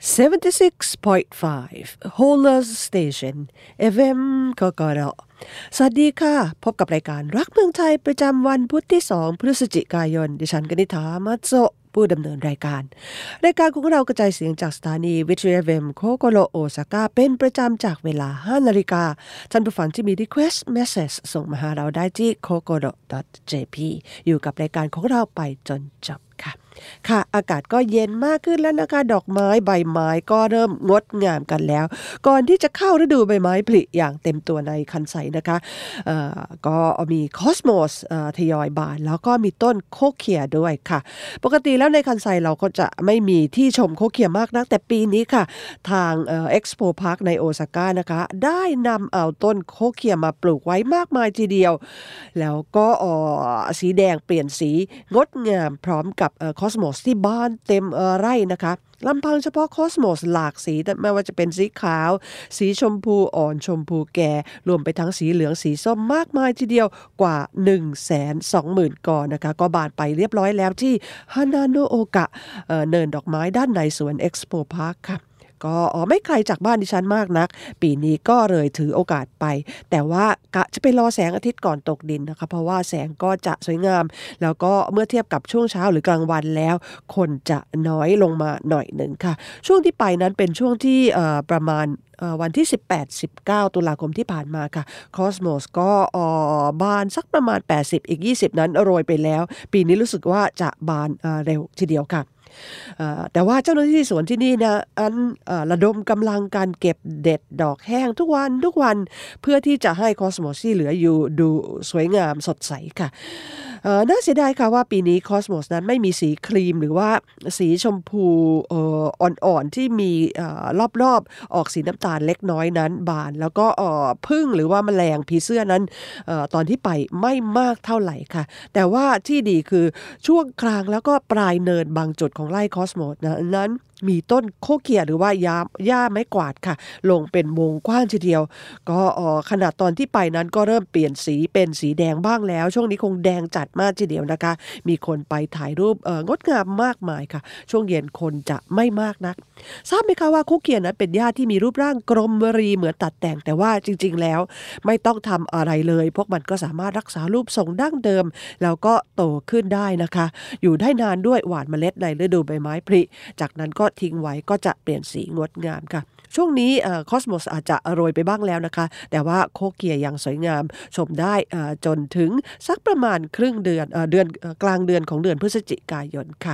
76.5 Holers Station FM กกรสวัสดีค่ะพบกับรายการรักเมืองไทยประจำวันพุธที่2พฤศจิกายนดิฉันกนิษฐามัตโซผู้ดำเนินรายการของเรากระจายเสียงจากสถานีวิทยุ FM โคโกโรโอซาก้าเป็นประจำจากเวลา 5 นาฬิกาท่านผู้ฟังที่มี request message ส่งมาหาเราได้ที่ kokoro.jp อยู่กับรายการของเราไปจนจบค่ะอากาศก็เย็นมากขึ้นแล้วนะคะดอกไม้ใบไม้ก็เริ่มงดงามกันแล้วก่อนที่จะเข้าฤดูใบไม้ผลิอย่างเต็มตัวในคันไซนะคะก็มีคอสโมสทยอยบานแล้วก็มีต้นโคเคียด้วยค่ะปกติแล้วในคันไซเราก็จะไม่มีที่ชมโคเคียมากนักแต่ปีนี้ค่ะทางเอ็กซ์โปพาร์คในโอซาก้านะคะได้นำเอาต้นโคเคียมาปลูกไว้มากมายทีเดียวแล้วก็สีแดงเปลี่ยนสีงดงามพร้อมกับคอสโมสที่บ้านเต็มไร่นะคะลำพังเฉพาะคอสโมสหลากสีไม่ว่าจะเป็นสีขาวสีชมพูอ่อนชมพูแก่รวมไปทั้งสีเหลืองสีส้มมากมายทีเดียวกว่า 120,000 กอนะคะก็บานไปเรียบร้อยแล้วที่ฮานาโนโอกะเนินดอกไม้ด้านในสวนเอ็กซ์โปพาร์คค่ะก็ไม่ไกลจากบ้านดิฉันมากนักปีนี้ก็เลยถือโอกาสไปแต่ว่ากะจะไปรอแสงอาทิตย์ก่อนตกดินนะคะเพราะว่าแสงก็จะสวยงามแล้วก็เมื่อเทียบกับช่วงเช้าหรือกลางวันแล้วคนจะน้อยลงมาหน่อยหนึ่งค่ะช่วงที่ไปนั้นเป็นช่วงที่ประมาณวันที่ 18-19 ตุลาคมที่ผ่านมาค่ะคอสโมสก็บานสักประมาณ80อีก20นั้นโรยไปแล้วปีนี้รู้สึกว่าจะบานเร็วทีเดียวค่ะแต่ว่าเจ้าหน้าที่สวนที่นี่นะระดมกำลังการเก็บเด็ดดอกแห้งทุกวันเพื่อที่จะให้คอสโมสที่เหลืออยู่ดูสวยงามสดใสค่ะน่าเสียดายค่ะว่าปีนี้คอสโมสนั้นไม่มีสีครีมหรือว่าสีชมพูอ่อนๆที่มีรอบๆออกสีน้ำตาลเล็กน้อยนั้นบานแล้วก็ผึ้งหรือว่าแมลงผีเสื้อนั้นตอนที่ไปไม่มากเท่าไหร่ค่ะแต่ว่าที่ดีคือช่วงกลางแล้วก็ปลายเนินบางจุดของไร่คอสโมสนั้นมีต้นโคเคียหรือว่าหญ้าไม้กวาดค่ะลงเป็นวงกว้างทีเดียวก็ขนาดตอนที่ไปนั้นก็เริ่มเปลี่ยนสีเป็นสีแดงบ้างแล้วช่วงนี้คงแดงจัดมากทีเดียวนะคะมีคนไปถ่ายรูปงดงามมากมายค่ะช่วงเย็นคนจะไม่มากนักทราบไหมคะว่าโคเคียนั้นเป็นหญ้าที่มีรูปร่างกลมรีเหมือนตัดแต่งแต่ว่าจริงๆแล้วไม่ต้องทำอะไรเลยพวกมันก็สามารถรักษารูปทรงดั้งเดิมแล้วก็โตขึ้นได้นะคะอยู่ได้นานด้วยหว่านเมล็ดในฤดูใบไม้ผลิจากนั้นก็ทิ้งไว้ก็จะเปลี่ยนสีงดงามค่ะช่วงนี้คอสโมสอาจจะโรยไปบ้างแล้วนะคะแต่ว่าโคเคียยังสวยงามชมได้จนถึงสักประมาณครึ่งเดือนกลางเดือนของเดือนพฤศจิกายนค่ะ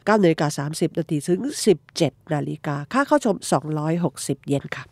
9:30 นถึง 17 นาฬิกาค่าเข้าชม260 เยนค่ะ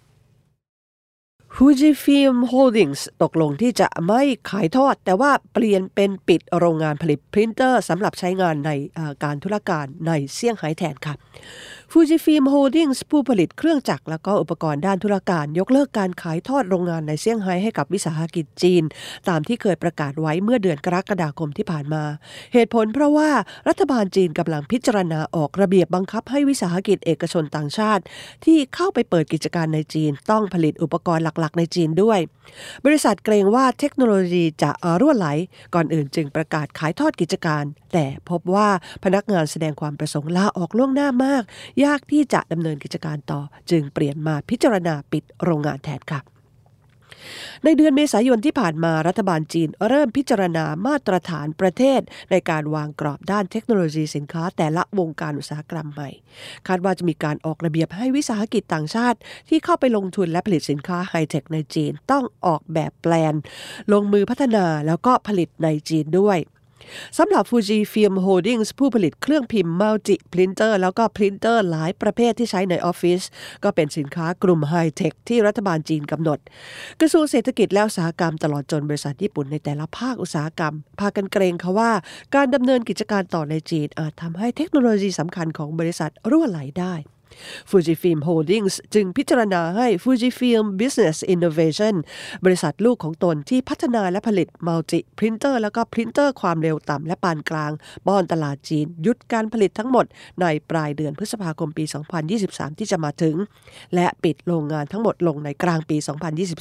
Fujifilm Holdings ตกลงที่จะไม่ขายทอดแต่ว่าเปลี่ยนเป็นปิดโรงงานผลิตพรินเตอร์สำหรับใช้งานในการธุรการในเซี่ยงไฮ้แทนค่ะ Fujifilm Holdings ผู้ผลิตเครื่องจักรและก็อุปกรณ์ด้านธุรการยกเลิกการขายทอดโรงงานในเซี่ยงไฮ้ให้กับวิสาหกิจจีนตามที่เคยประกาศไว้เมื่อเดือนกรกฎาคมที่ผ่านมาเหตุผลเพราะว่ารัฐบาลจีนกำลังพิจารณาออกระเบียบบังคับให้วิสาหกิจเอกชนต่างชาติที่เข้าไปเปิดกิจการในจีนต้องผลิตอุปกรณ์หลักๆในจีนด้วยบริษัทเกรงว่าเทคโนโลยีจะรั่วไหลก่อนอื่นจึงประกาศขายทอดกิจการแต่พบว่าพนักงานแสดงความประสงค์ลาออกล่วงหน้ามากยากที่จะดำเนินกิจการต่อจึงเปลี่ยนมาพิจารณาปิดโรงงานแทนค่ะในเดือนเมษายนที่ผ่านมารัฐบาลจีนเริ่มพิจารณามาตรฐานประเทศในการวางกรอบด้านเทคโนโลยีสินค้าแต่ละวงการอุตสาหกรรมใหม่คาดว่าจะมีการออกระเบียบให้วิสาหกิจต่างชาติที่เข้าไปลงทุนและผลิตสินค้าไฮเทคในจีนต้องออกแบบแปลนลงมือพัฒนาแล้วก็ผลิตในจีนด้วยสำหรับ Fujifilm Holdings ผู้ผลิตเครื่องพิมพ์ Multi Printer แล้วก็พรินเตอร์หลายประเภทที่ใช้ในออฟฟิศก็เป็นสินค้ากลุ่มไฮเทคที่รัฐบาลจีนกำหนดกระทรวงเศรษฐกิจและอุตสาหกรรมตลอดจนบริษัทญี่ปุ่นในแต่ละภาคอุตสาหกรรมพากันเกรงค่ะว่าการดำเนินกิจการต่อในจีนอาจทำให้เทคโนโลยีสำคัญของบริษัทรั่วไหลได้ Fujifilm Holdings จึงพิจารณาให้ Fujifilm Business Innovation บริษัทลูกของตนที่พัฒนาและผลิต Multi Printer แล้วก็พรินเตอร์ความเร็วต่ำและปานกลางป้อนตลาดจีนหยุดการผลิตทั้งหมดในปลายเดือนพฤษภาคมปี 2023 ที่จะมาถึงและปิดโรงงานทั้งหมดลงในกลางปี 2024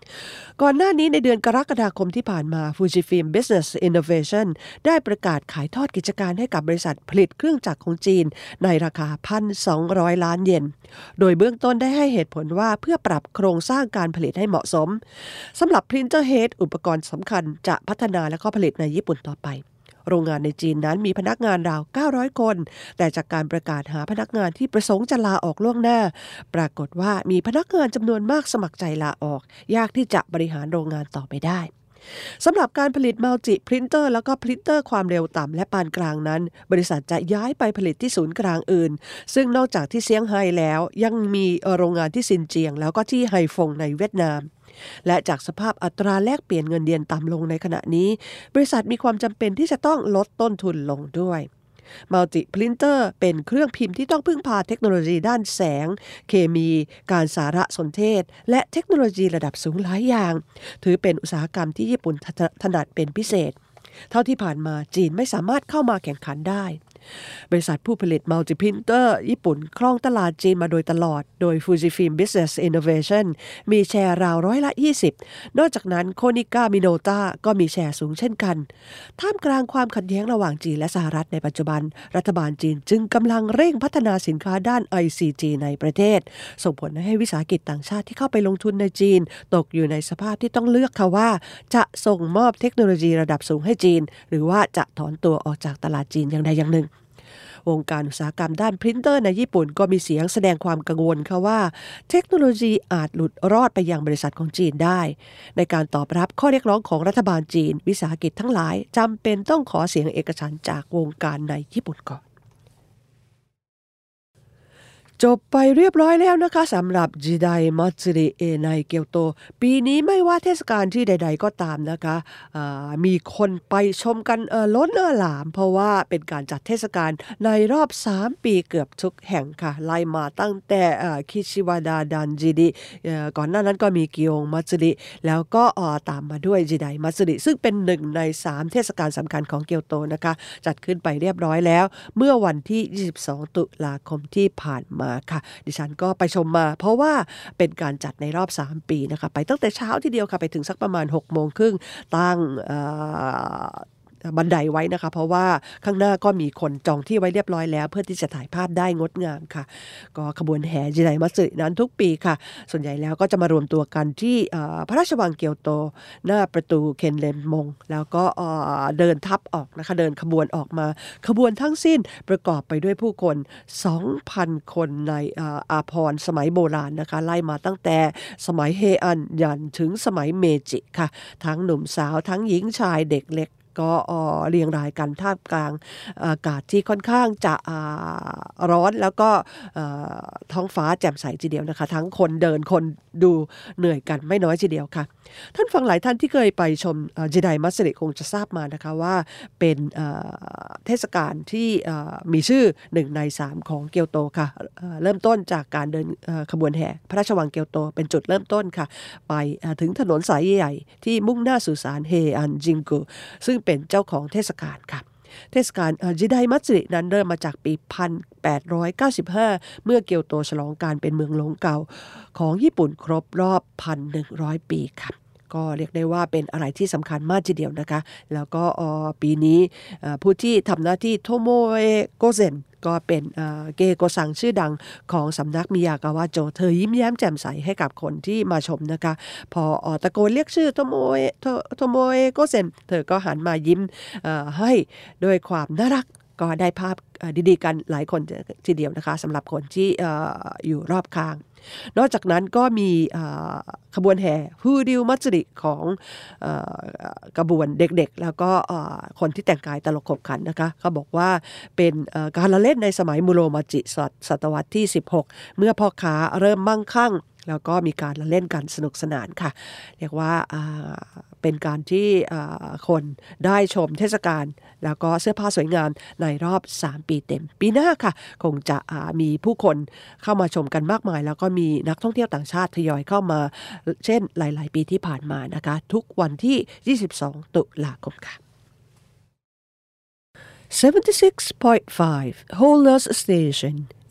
ก่อนหน้านี้ในเดือนกรกฎาคมที่ผ่านมา Fujifilm Business Innovation ได้ประกาศขายทอดกิจการให้กับบริษัทผลิตเครื่องจักรของจีนในราคา 1,200 ล้านเยนโดยเบื้องต้นได้ให้เหตุผลว่าเพื่อปรับโครงสร้างการผลิตให้เหมาะสมสำหรับ Printer Head อุปกรณ์สำคัญจะพัฒนาและก็ผลิตในญี่ปุ่นต่อไปโรงงานในจีนนั้นมีพนักงานราว900คนแต่จากการประกาศหาพนักงานที่ประสงค์จะลาออกล่วงหน้าปรากฏว่ามีพนักงานจำนวนมากสมัครใจลาออกยากที่จะบริหารโรงงานต่อไปได้สำหรับการผลิตมัลติพรินเตอร์แล้วก็พรินเตอร์ความเร็วต่ำและปานกลางนั้นบริษัทจะย้ายไปผลิตที่ศูนย์กลางอื่นซึ่งนอกจากที่เซี่ยงไฮ้แล้วยังมีโรงงานที่ซินเจียงแล้วก็ที่ไฮฟงในเวียดนามและจากสภาพอัตราแลกเปลี่ยนเงินเยนต่ำลงในขณะนี้บริษัทมีความจำเป็นที่จะต้องลดต้นทุนลงด้วยมัลติพรินเตอร์เป็นเครื่องพิมพ์ที่ต้องพึ่งพาเทคโนโลยีด้านแสงเคมีการสารสนเทศและเทคโนโลยีระดับสูงหลายอย่างถือเป็นอุตสาหกรรมที่ญี่ปุ่นถนัดเป็นพิเศษเท่าที่ผ่านมาจีนไม่สามารถเข้ามาแข่งขันได้บริษัทผู้ผลิตมัลติพรินเตอร์ญี่ปุ่นครองตลาดจีนมาโดยตลอดโดย Fujifilm Business Innovation มีแชร์ราว20%นอกจากนั้น Konica Minolta ก็มีแชร์สูงเช่นกันท่ามกลางความขัดแย้งระหว่างจีนและสหรัฐในปัจจุบันรัฐบาลจีนจึงกำลังเร่งพัฒนาสินค้าด้าน ICT ในประเทศส่งผลให้วิสาหกิจต่างชาติที่เข้าไปลงทุนในจีนตกอยู่ในสภาพที่ต้องเลือกค่ะว่าจะส่งมอบเทคโนโลยีระดับสูงให้จีนหรือว่าจะถอนตัวออกจากตลาดจีนอย่างใดอย่างหนึ่งวงการอุตสาหกรรมด้านพรินเตอร์ในญี่ปุ่นก็มีเสียงแสดงความกังวลค่ะว่าเทคโนโลยีอาจหลุดรอดไปยังบริษัทของจีนได้ในการตอบรับข้อเรียกร้องของรัฐบาลจีนวิสาหกิจทั้งหลายจำเป็นต้องขอเสียงเอกฉันท์จากวงการในญี่ปุ่นก่อนจบไปเรียบร้อยแล้วนะคะสำหรับจิไดมัตสึริในเกียวโตปีนี้ไม่ว่าเทศกาลที่ใดๆก็ตามนะคะมีคนไปชมกันล้นหลามเพราะว่าเป็นการจัดเทศกาลในรอบ3ปีเกือบทุกแห่งค่ะไล่มาตั้งแต่คิชิวาดาดันจิริก่อนหน้านั้นก็มีกิโองมัตสึริแล้วก็ตามมาด้วยจิไดมัตสึริซึ่งเป็น1ใน3เทศกาลสำคัญของเกียวโตนะคะจัดขึ้นไปเรียบร้อยแล้วเมื่อวันที่22ตุลาคมที่ผ่านมาค่ะดิฉันก็ไปชมมาเพราะว่าเป็นการจัดในรอบ3ปีนะคะไปตั้งแต่เช้าทีเดียวค่ะไปถึงสักประมาณ 6:30 นตั้งบันไดไว้นะคะเพราะว่าข้างหน้าก็มีคนจองที่ไว้เรียบร้อยแล้วเพื่อที่จะถ่ายภาพได้งดงามค่ะก็ขบวนแห่จิไดมัตสึนั้นทุกปีค่ะส่วนใหญ่แล้วก็จะมารวมตัวกันที่พระราชวังเกียวโตหน้าประตูเคนเรนมงแล้วก็เดินทัพออกนะคะเดินขบวนออกมาขบวนทั้งสิ้นประกอบไปด้วยผู้คน 2,000 คนในอาภรณ์สมัยโบราณนะคะไล่มาตั้งแต่สมัยเฮอันยันถึงสมัยเมจิค่ะทั้งหนุ่มสาวทั้งหญิงชายเด็กเล็กก็เรียงรายกันท่ามกลางอากาศที่ค่อนข้างจะร้อนแล้วก็ท้องฟ้าแจ่มใสทีเดียวนะคะทั้งคนเดินคนดูเหนื่อยกันไม่น้อยทีเดียวค่ะท่านฟังหลายท่านที่เคยไปชมจิไดมัตสึริคงจะทราบมานะคะว่าเป็นเทศกาลที่มีชื่อ1ใน3ของเกียวโตค่ะเริ่มต้นจากการเดินขบวนแห่พระราชวังเกียวโตเป็นจุดเริ่มต้นค่ะไปถึงถนนสายใหญ่ที่มุ่งหน้าสู่ศาลเฮอันจิงกุซึ่งเป็นเจ้าของเทศกาลค่ะเทศกาลจิไดมัตสึรินั้นเริ่มมาจากปี 1895 เมื่อเกียวโตฉลองการเป็นเมืองหลวงเก่าของญี่ปุ่นครบรอบ 1,100 ปีค่ะก็เรียกได้ว่าเป็นอะไรที่สำคัญมากทีเดียวนะคะแล้วก็ปีนี้ผู้ที่ทำหน้าที่โทโมเอะโกเซ็นก็เป็นเกโกซังชื่อดังของสำนักมิยากาวะโจเธอยิ้มแย้มแจ่มใสให้กับคนที่มาชมนะคะพอตะโกนเรียกชื่อโทโมเอะโกเซ็นเธอก็หันมายิ้มให้ด้วยความน่ารักก็ได้ภาพดีๆกันหลายคนทีเดียวนะคะสำหรับคนที่อยู่รอบข้างนอกจากนั้นก็มีขบวนแห่ฮูริวมัตสึริของกระบวนเด็กๆแล้วก็คนที่แต่งกายตลกขบขันนะคะเขาบอกว่าเป็นการละเล่นในสมัยมุโรมาจิศตวรรษที่16เมื่อพ่อค้าเริ่มมั่งคั่งแล้วก็มีการละเล่นกันสนุกสนานค่ะเรียกว่าเป็นการที่คนได้ชมเทศกาลแล้วก็เสื้อผ้าสวยงามในรอบ3ปีเต็มปีหน้าค่ะคงจะมีผู้คนเข้ามาชมกันมากมายแล้วก็มีนักท่องเที่ยวต่างชาติทยอยเข้ามาเช่นหลายๆปีที่ผ่านมานะคะทุกวันที่22ตุลาคมค่ะ76.5 Holers Station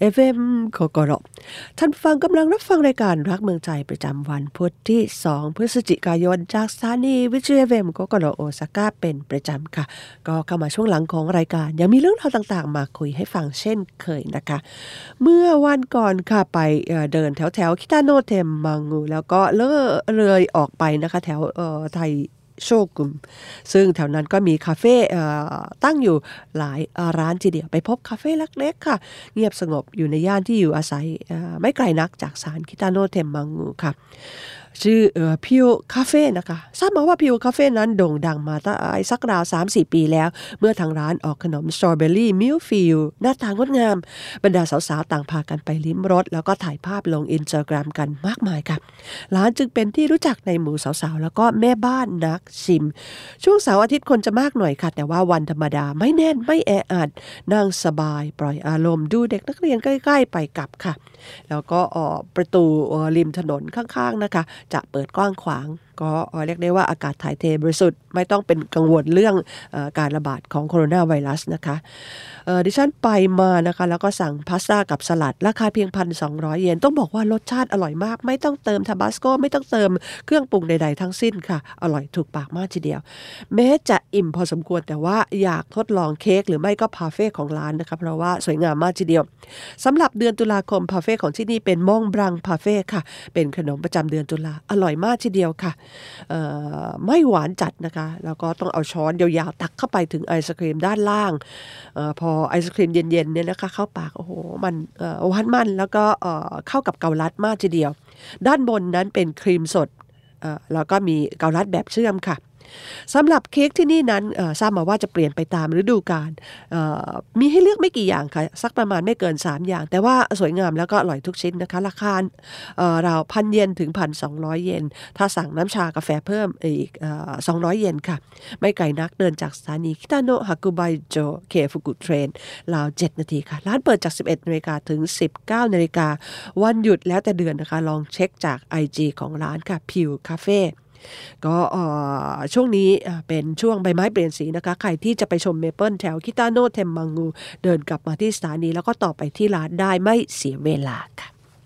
FM โคโกโรท่านฟังกำลังรับฟังรายการรักเมืองใจประจำวันพุธที่2พฤศจิกายนจากสถานีวิทยุ FM โคโกโรโอซาก้าเป็นประจำค่ะก็เข้ามาช่วงหลังของรายการยังมีเรื่องราวต่างๆมาคุยให้ฟังเช่นเคยนะคะเมื่อวันก่อนค่ะไปเดินแถวคิตาโนเทมมังงูแล้วก็เลยออกไปนะคะแถวไทโชกุมซึ่งแถวนั้นก็มีคาเฟ่ตั้งอยู่หลายร้านทีเดียวไปพบคาเฟ่เล็กๆค่ะเงียบสงบอยู่ในย่านที่อยู่อาศัยไม่ไกลนักจากศาลคิตาโนเทมมังงูค่ะชื่อพิวคาเฟ่นะคะทราบมาว่าพิวคาเฟ่นั้นโด่งดังมาตั้งสักราว 3-4 ปีแล้วเมื่อทางร้านออกขนมสตรอเบอรี่มิลฟิลหน้าตางดงามบรรดาสาวๆต่างพากันไปลิ้มรสแล้วก็ถ่ายภาพลง Instagram กันมากมายค่ะร้านจึงเป็นที่รู้จักในหมู่สาวๆแล้วก็แม่บ้านนักชิมช่วงเสาร์อาทิตย์คนจะมากหน่อยค่ะแต่ว่าวันธรรมดาไม่แน่นไม่แออัดนั่งสบายปล่อยอารมณ์ดูเด็กนักเรียนใกล้ๆไปกลับค่ะแล้วก็ประตูริมถนนข้างๆนะคะจะเปิดกว้างขวางก็เรียกได้ว่าอากาศถ่ายเทบริสุทธิ์ไม่ต้องเป็นกังวลเรื่องการระบาดของโคโรนาไวรัสนะคะดิฉันไปมานะคะแล้วก็สั่งพาสต้ากับสลัดราคาเพียง 1,200 เยนต้องบอกว่ารสชาติอร่อยมากไม่ต้องเติมทาบาสโกไม่ต้องเติมเครื่องปรุงใดๆทั้งสิ้นค่ะอร่อยถูกปากมากทีเดียวแม้จะอิ่มพอสมควรแต่ว่าอยากทดลองเค้กหรือไม่ก็พาเฟ่ของร้านนะคะเพราะว่าสวยงามมากทีเดียวสำหรับเดือนตุลาคมพาเฟ่ของที่นี่เป็นมองบรังพาเฟ่ค่ะเป็นขนมประจำเดือนตุลาอร่อยมากทีเดียวค่ะไม่หวานจัดนะคะแล้วก็ต้องเอาช้อนยาวๆตักเข้าไปถึงไอศครีมด้านล่างพอไอศครีมเย็นๆเนี่ยนะคะเข้าปากโอ้โหมันหวานมันแล้วก็เข้ากับเกาลัดมากทีเดียวด้านบนนั้นเป็นครีมสดแล้วก็มีเกาลัดแบบเชื่อมค่ะสำหรับเค้กที่นี่นั้นทราบมาว่าจะเปลี่ยนไปตามฤดูกาลมีให้เลือกไม่กี่อย่างค่ะสักประมาณไม่เกิน3อย่างแต่ว่าสวยงามแล้วก็อร่อยทุกชิ้นนะคะราคาราว1,000 เยนถึง 1,200 เยนถ้าสั่งน้ำชากาแฟเพิ่มอีก200 เยนค่ะไม่ไกลนักเดินจากสถานีคิตาโนะฮากุไบโจเคฟุกุเทรนราว7 นาทีค่ะร้านเปิดจาก 11 นาฬิกาถึง 19 นาฬิกาวันหยุดแล้วแต่เดือนนะคะลองเช็คจาก IG ของร้านค่ะพิวคาเฟ่ก็ช่วงนี้เป็นช่วงใบไม้เปลี่ยนสีนะคะใครที่จะไปชมเมเปิลแถวคิตาโนะเทมมังงูเดินกลับมาที่สถานีแล้วก็ต่อไปที่ร้านได้ไม่เสียเวลาค่ะ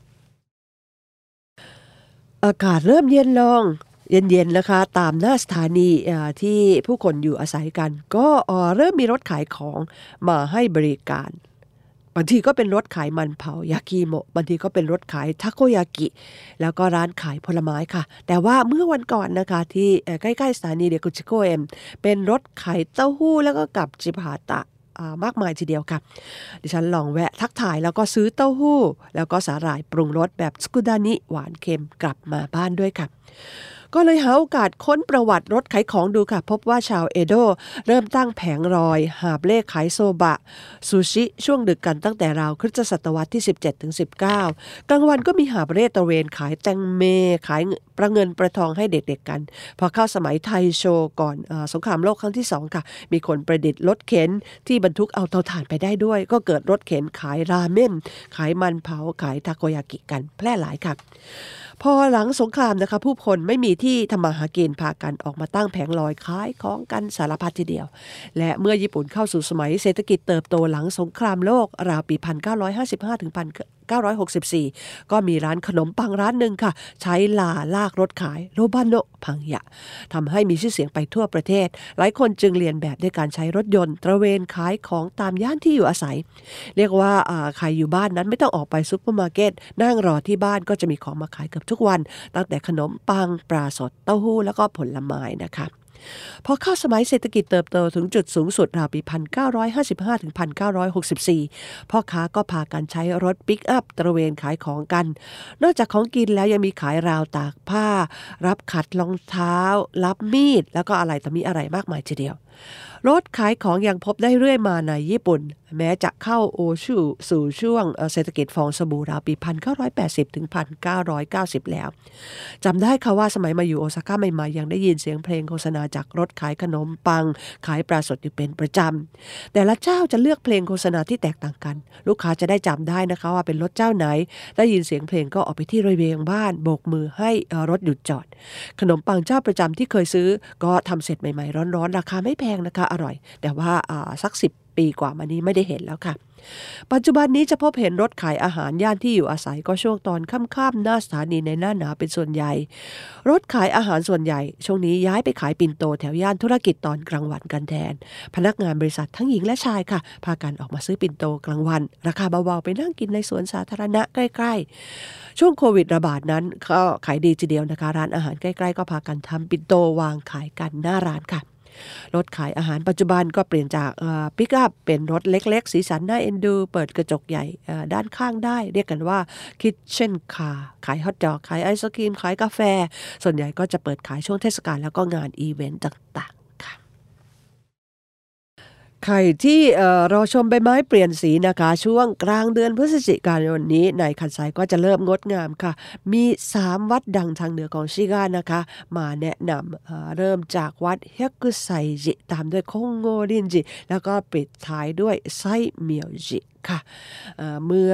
อากาศเริ่มเย็นลงเย็นๆนะคะตามหน้าสถานีที่ผู้คนอยู่อาศัยกันก็เริ่มมีรถขายของมาให้บริการบางทีก็เป็นรถขายมันเผายากิโมะบางทีก็เป็นรถขายทาโกยากิแล้วก็ร้านขายผลไม้ค่ะแต่ว่าเมื่อวันก่อนนะคะที่ใกล้ๆสถานีเดกุชิโกเอ็มเป็นรถขายเต้าหู้แล้วก็กับจิบฮาตะมากมายทีเดียวค่ะดิฉันลองแวะทักทายแล้วก็ซื้อเต้าหู้แล้วก็สาหร่ายปรุงรสแบบสกุดานิหวานเค็มกลับมาบ้านด้วยค่ะก็เลยหาโอกาสค้นประวัติรถขายของดูค่ะพบว่าชาวเอโดะเริ่มตั้งแผงรอยหาบเล่ขายโซบะซูชิช่วงดึกกันตั้งแต่ราวคริสตศตวรรษที่ 17-19 กลางวันก็มีหาบเร่ตระเวนขายแตงเมขายประเงินประทองให้เด็กๆกันพอเข้าสมัยไทโชก่อนสงครามโลกครั้งที่2ค่ะมีคนประดิษฐ์รถเข็นที่บรรทุกเอาเตาถ่านไปได้ด้วยก็เกิดรถเข็นขายราเม่นขายมันเผาขายทาโกยากิกันแพร่หลายค่ะพอหลังสงครามนะคะผู้คนไม่มีที่ทำมาหากินพากันออกมาตั้งแผงลอยขายของกันสารพัดทีเดียวและเมื่อญี่ปุ่นเข้าสู่สมัยเศรษฐกิจเติบโตหลังสงครามโลกราวปี 1955 ถึง 1964 ก็มีร้านขนมปังร้านหนึ่งค่ะใช้ลากรถขายโรบาโนะพังยะทำให้มีชื่อเสียงไปทั่วประเทศหลายคนจึงเรียนแบบด้วยการใช้รถยนต์ตระเวนขายของตามย่านที่อยู่อาศัยเรียกว่าใครอยู่บ้านนั้นไม่ต้องออกไปซุปเปอร์มาร์เก็ตนั่งรอที่บ้านก็จะมีของมาขายเกือบทุกวันตั้งแต่ขนมปังปลาสดเต้าหู้แล้วก็ผลไม้นะคะพอเข้าสมัยเศรษฐกิจเติบโตถึงจุดสูงสุดราวปี 1955 ถึง 1964 พ่อค้าก็พากันใช้รถปิกอัพตระเวนขายของกันนอกจากของกินแล้วยังมีขายราวตากผ้ารับขัดรองเท้ารับมีดแล้วก็อะไรต่อมีอะไรมากมายทีเดียวรถขายของยังพบได้เรื่อยมาในญี่ปุ่นแม้จะเข้าโอชูสู่ช่วงเศรษฐกิจฟองสบู่ราวปี 1980 ถึง 1990 แล้วจำได้ค่ะว่าสมัยมาอยู่โอซาก้าใหม่ๆยังได้ยินเสียงเพลงโฆษณาจากรถขายขนมปังขายปลาสดอยู่เป็นประจำแต่ละเจ้าจะเลือกเพลงโฆษณาที่แตกต่างกันลูกค้าจะได้จำได้นะคะว่าเป็นรถเจ้าไหนได้ยินเสียงเพลงก็ออกไปที่ระเบียงบ้านโบกมือให้รถหยุดจอดขนมปังเจ้าประจำที่เคยซื้อก็ทำเสร็จใหม่ๆร้อนๆราคาไม่แพงนะคะอร่อยแต่ว่าสัก10 ปีกว่ามานี้ไม่ได้เห็นแล้วค่ะปัจจุบันนี้จะพบเห็นรถขายอาหารย่านที่อยู่อาศัยก็ช่วงตอนค่ำๆหน้าสถานีในหน้าหนาวเป็นส่วนใหญ่รถขายอาหารส่วนใหญ่ช่วงนี้ย้ายไปขายปิ่นโตแถวย่านธุรกิจตอนกลางวันกันแทนพนักงานบริษัททั้งหญิงและชายค่ะพากันออกมาซื้อปิ่นโตกลางวันราคาเบาๆไปนั่งกินในสวนสาธารณะใกล้ๆช่วงโควิดระบาดนั้นก็ขายดีทีเดียวนะคะร้านอาหารใกล้ๆก็พากันทำปิ่นโตวางขายกันหน้าร้านค่ะรถขายอาหารปัจจุบันก็เปลี่ยนจากปิกอัพเป็นรถเล็กๆสีสันน่าเอ็นดูเปิดกระจกใหญ่ด้านข้างได้เรียกกันว่าคิทเช่นคาร์ขายฮอทดอกขายไอศกรีมขายกาแฟส่วนใหญ่ก็จะเปิดขายช่วงเทศกาลแล้วก็งานอีเวนต์ต่างๆค่ะใครที่รอชมใบไม้เปลี่ยนสีนะคะช่วงกลางเดือนพฤศจิกายนนี้ในคันไซก็จะเริ่มงดงามค่ะมี3วัดดังทางเหนือของชิกานะคะมาแนะนำเริ่มจากวัดเฮกุไซจิตามด้วยคงโงรินจิแล้วก็ปิดท้ายด้วยไซเมียวจิค่ะเมื่อ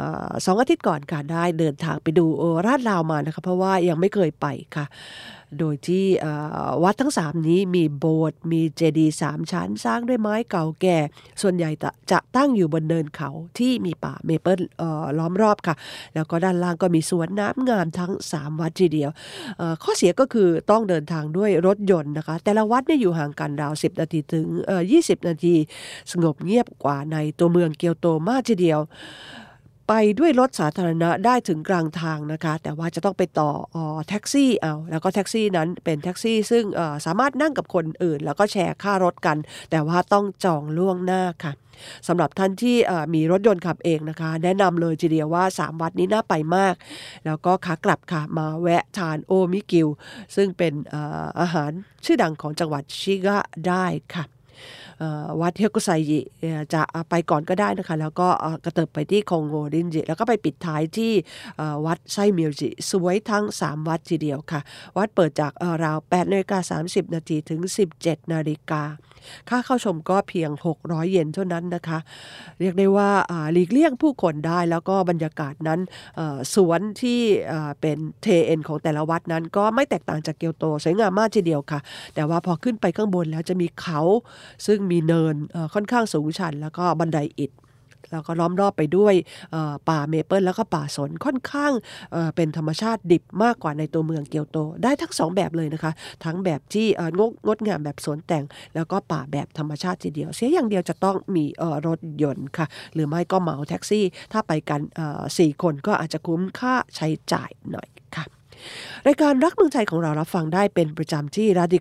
2 อาทิตย์ก่อนค่ะได้เดินทางไปดูราดราวมานะคะเพราะว่ายังไม่เคยไปค่ะโดยที่วัดทั้ง3นี้มีโบสถ์มีเจดีย์3ชั้นสร้างด้วยไม้เก่าแก่ส่วนใหญ่จะตั้งอยู่บนเนินเขาที่มีป่าเมเปิลล้อมรอบค่ะแล้วก็ด้านล่างก็มีสวนน้ำงามทั้ง3วัดทีเดียวข้อเสียก็คือต้องเดินทางด้วยรถยนต์นะคะแต่ละวัดเนี่ยอยู่ห่างกันราว10 นาทีถึง20 นาทีสงบเงียบกว่าในตัวเมืองเกียวโตมากทีเดียวไปด้วยรถสาธารณะได้ถึงกลางทางนะคะแต่ว่าจะต้องไปต่อแท็กซี่เอาแล้วก็แท็กซี่นั้นเป็นแท็กซี่ซึ่งสามารถนั่งกับคนอื่นแล้วก็แชร์ค่ารถกันแต่ว่าต้องจองล่วงหน้าค่ะสำหรับท่านที่มีรถยนต์ขับเองนะคะแนะนำเลยทีเดียวว่า3วัดนี้น่าไปมากแล้วก็ขากลับค่ะมาแวะทานโอมิกิวซึ่งเป็นอาหารชื่อดังของจังหวัดชิกะได้ค่ะวัดเฮกุไซจิจะไปก่อนก็ได้นะคะแล้วก็กระเถิบไปที่คงโงรินจิแล้วก็ไปปิดท้ายที่วัดไซเมียวจิสวยทั้ง3วัดทีเดียวค่ะวัดเปิดจากราว8:30 นาทีถึง 17 นาฬิกาค่าเข้าชมก็เพียง600 เยนเท่านั้นนะคะเรียกได้ว่าหลีกเลี่ยงผู้คนได้แล้วก็บรรยากาศนั้นสวนที่เป็นเทเอ็นของแต่ละวัดนั้นก็ไม่แตกต่างจากเกียวโตสวยงามมากทีเดียวค่ะแต่ว่าพอขึ้นไปข้างบนแล้วจะมีเขาซึ่งมีเนินค่อนข้างสูงชันแล้วก็บันไดอิฐแล้วก็ล้อมรอบไปด้วยป่าเมเปิลแล้วก็ป่าสนค่อนข้างเป็นธรรมชาติดิบมากกว่าในตัวเมืองเกียวโตได้ทั้ง2แบบเลยนะคะทั้งแบบที่งดงามแบบสวนแต่งแล้วก็ป่าแบบธรรมชาติทีเดียวเสียอย่างเดียวจะต้องมีรถยนต์ค่ะหรือไม่ก็เหมาแท็กซี่ถ้าไปกัน4 คนก็อาจจะคุ้มค่าใช้จ่ายหน่อยค่ะรายการรักเมืองไทยของเรารับฟังได้เป็นประจำที่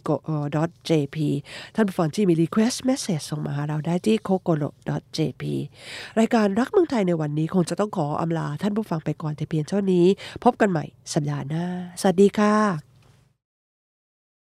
radico.jp ท่านผู้ฟังที่มี request message ส่งมาหาเราได้ที่ kokoro.jp รายการรักเมืองไทยในวันนี้คงจะต้องขออำลาท่านผู้ฟังไปก่อนแต่เพียงเท่านี้พบกันใหม่สัปดาห์หน้าสวัสดีค่ะ